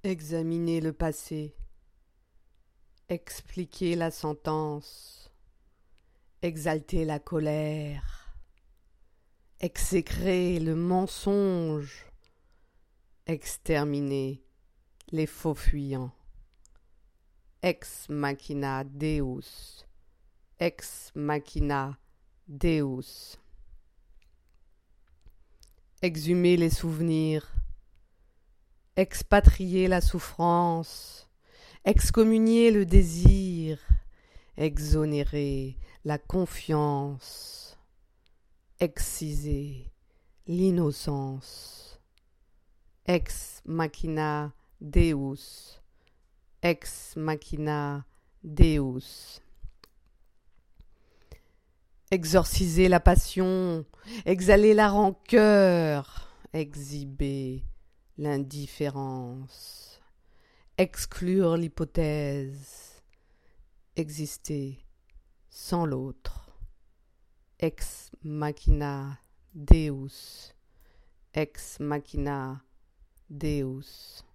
Examiner le passé, expliquer la sentence, exalter la colère, exécrer le mensonge, exterminer les faux fuyants. Ex machina Deus, ex machina Deus. Exhumer les souvenirs, expatrier la souffrance, excommunier le désir, exonérer la confiance, exciser l'innocence. Ex machina Deus, ex machina Deus. Exorciser la passion, exhaler la rancœur, exhiber l'indifférence, exclure l'hypothèse, exister sans l'autre. Ex machina Deus, ex machina Deus.